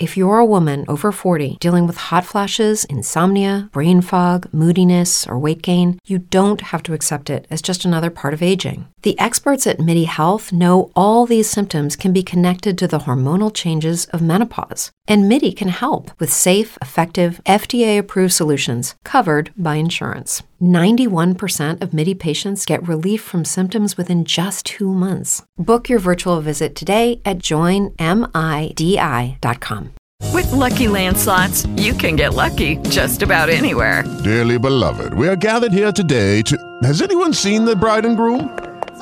If you're a woman over 40 dealing with hot flashes, insomnia, brain fog, moodiness, or weight gain, you don't have to accept it as just another part of aging. The experts at MIDI Health know all these symptoms can be connected to the hormonal changes of menopause. And MIDI can help with safe, effective, FDA-approved solutions covered by insurance. 91% of MIDI patients get relief from symptoms within just 2 months. Book your virtual visit today at joinmidi.com. With Lucky Land Slots, you can get lucky just about anywhere. Dearly beloved, we are gathered here today to... Has anyone seen the bride and groom?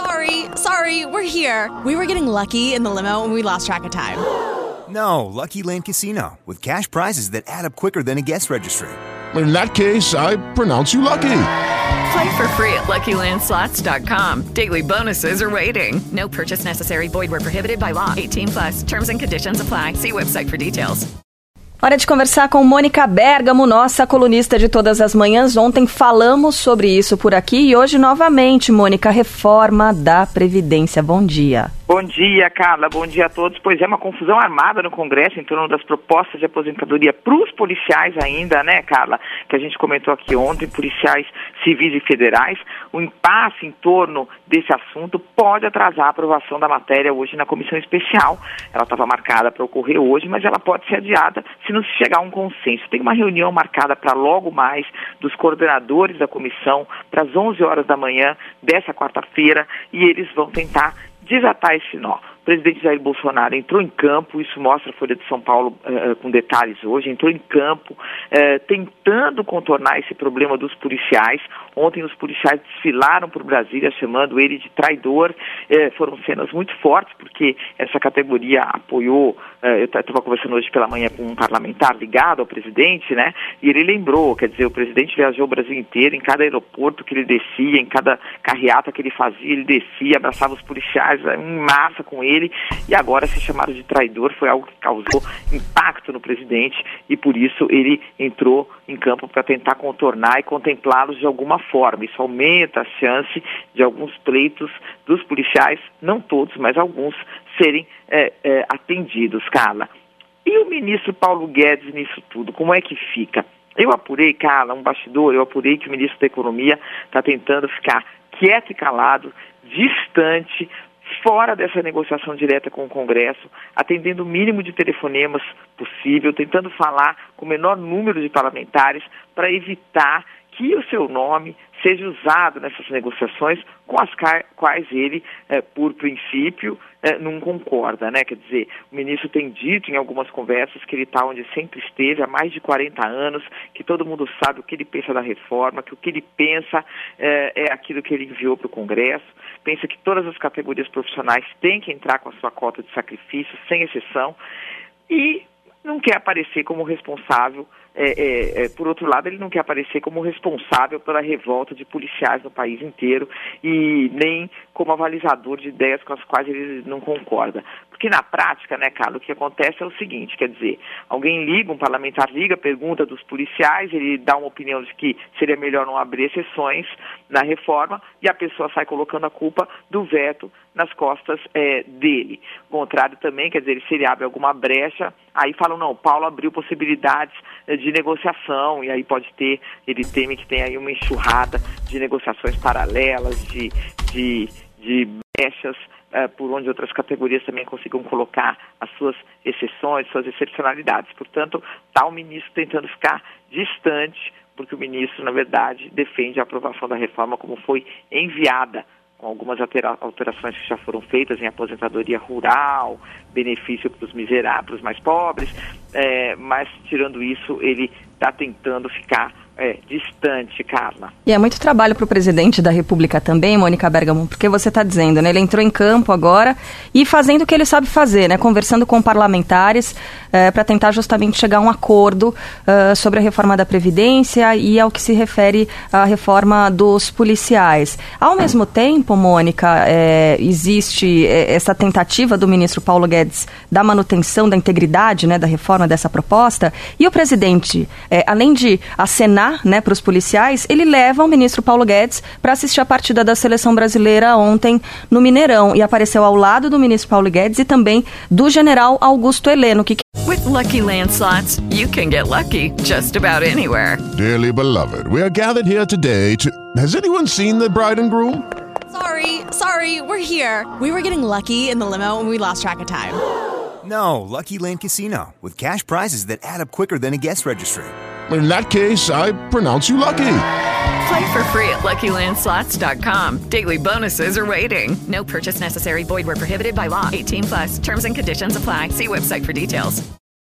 Sorry, we're here. We were getting lucky in the limo and we lost track of time. No, Lucky Land Casino, with cash prizes that add up quicker than a guest registry. In that case, I pronounce you lucky. Play for free at LuckyLandSlots.com. Daily bonuses are waiting. No purchase necessary. Void where prohibited by law. 18+. Terms and conditions apply. See website for details. Hora de conversar com Mônica Bergamo, nossa colunista de todas as manhãs. Ontem falamos sobre isso por aqui e hoje novamente, Mônica, reforma da Previdência. Bom dia. Bom dia, Carla. Bom dia a todos. Pois é, uma confusão armada no Congresso em torno das propostas de aposentadoria para os policiais ainda, né, Carla? Que a gente comentou aqui ontem, policiais civis e federais. O impasse em torno desse assunto pode atrasar a aprovação da matéria hoje na comissão especial. Ela estava marcada para ocorrer hoje, mas ela pode ser adiada se não se chegar a um consenso. Tem uma reunião marcada para logo mais dos coordenadores da comissão para as 11 horas da manhã dessa quarta-feira e eles vão tentar desatar esse nó. O presidente Jair Bolsonaro entrou em campo, isso mostra a Folha de São Paulo com detalhes hoje, entrou em campo tentando contornar esse problema dos policiais. Ontem os policiais desfilaram por Brasília chamando ele de traidor. Foram cenas muito fortes porque essa categoria apoiou, eu estava conversando hoje pela manhã com um parlamentar ligado ao presidente, né? E ele lembrou, quer dizer, o presidente viajou o Brasil inteiro, em cada aeroporto que ele descia, em cada carreata que ele fazia, ele descia, abraçava os policiais em massa com ele, e agora ser chamado de traidor foi algo que causou impacto no presidente e por isso ele entrou em campo para tentar contornar e contemplá-los de alguma forma. Isso aumenta a chance de alguns pleitos dos policiais, não todos, mas alguns, serem atendidos, Carla. E o ministro Paulo Guedes nisso tudo, como é que fica? Eu apurei, Carla, um bastidor, eu apurei que o ministro da Economia está tentando ficar quieto e calado, distante, fora dessa negociação direta com o Congresso, atendendo o mínimo de telefonemas possível, tentando falar com o menor número de parlamentares para evitar que o seu nome seja usado nessas negociações com as quais ele, por princípio, não concorda, né? Quer dizer, o ministro tem dito em algumas conversas que ele está onde sempre esteve há mais de 40 anos, que todo mundo sabe o que ele pensa da reforma, que o que ele pensa é aquilo que ele enviou para o Congresso, pensa que todas as categorias profissionais têm que entrar com a sua cota de sacrifício, sem exceção, e não quer aparecer como responsável. Por outro lado, ele não quer aparecer como responsável pela revolta de policiais no país inteiro e nem como avalizador de ideias com as quais ele não concorda. Porque na prática, né, Carlos, o que acontece é o seguinte, quer dizer, alguém liga, um parlamentar liga, pergunta dos policiais, ele dá uma opinião de que seria melhor não abrir exceções na reforma e a pessoa sai colocando a culpa do veto nas costas dele. O contrário também, quer dizer, se ele abre alguma brecha, aí falam, não, Paulo abriu possibilidades de negociação, e aí ele teme que tenha aí uma enxurrada de negociações paralelas, de brechas, por onde outras categorias também consigam colocar as suas exceções, suas excepcionalidades. Portanto, está o ministro tentando ficar distante, porque o ministro, na verdade, defende a aprovação da reforma como foi enviada, com algumas alterações que já foram feitas em aposentadoria rural, benefício para os miseráveis, para os mais pobres, mas tirando isso, ele está tentando ficar distante, Carla. E é muito trabalho para o presidente da República também, Mônica Bergamo, porque você está dizendo, né? Ele entrou em campo agora e fazendo o que ele sabe fazer, né? Conversando com parlamentares para tentar justamente chegar a um acordo sobre a reforma da Previdência e ao que se refere à reforma dos policiais. Ao mesmo tempo, Mônica, existe essa tentativa do ministro Paulo Guedes da manutenção da integridade, né, da reforma dessa proposta, e o presidente, além de acenar ligar, né, para os policiais, ele leva o ministro Paulo Guedes para assistir a partida da seleção brasileira ontem no Mineirão e apareceu ao lado do ministro Paulo Guedes e também do general Augusto Heleno. With Lucky Land Slots, you can get lucky just about anywhere. Dearly beloved, we are gathered here today to... Has anyone seen the bride and groom? Sorry, we're here. We were getting lucky in the limo and we lost track of time. No, Lucky Land Casino, with cash prizes that add up quicker than a guest registry. In that case, I pronounce you lucky. Play for free at LuckyLandSlots.com. Daily bonuses are waiting. No purchase necessary. Void where prohibited by law. 18+. Terms and conditions apply. See website for details.